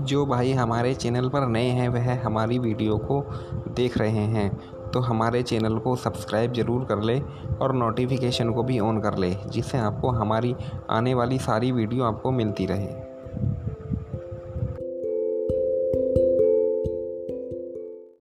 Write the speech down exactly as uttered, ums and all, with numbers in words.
जो भाई हमारे चैनल पर नए हैं वह हमारी वीडियो को देख रहे हैं तो हमारे चैनल को सब्सक्राइब ज़रूर कर ले और नोटिफिकेशन को भी ऑन कर ले, जिससे आपको हमारी आने वाली सारी वीडियो आपको मिलती रहे।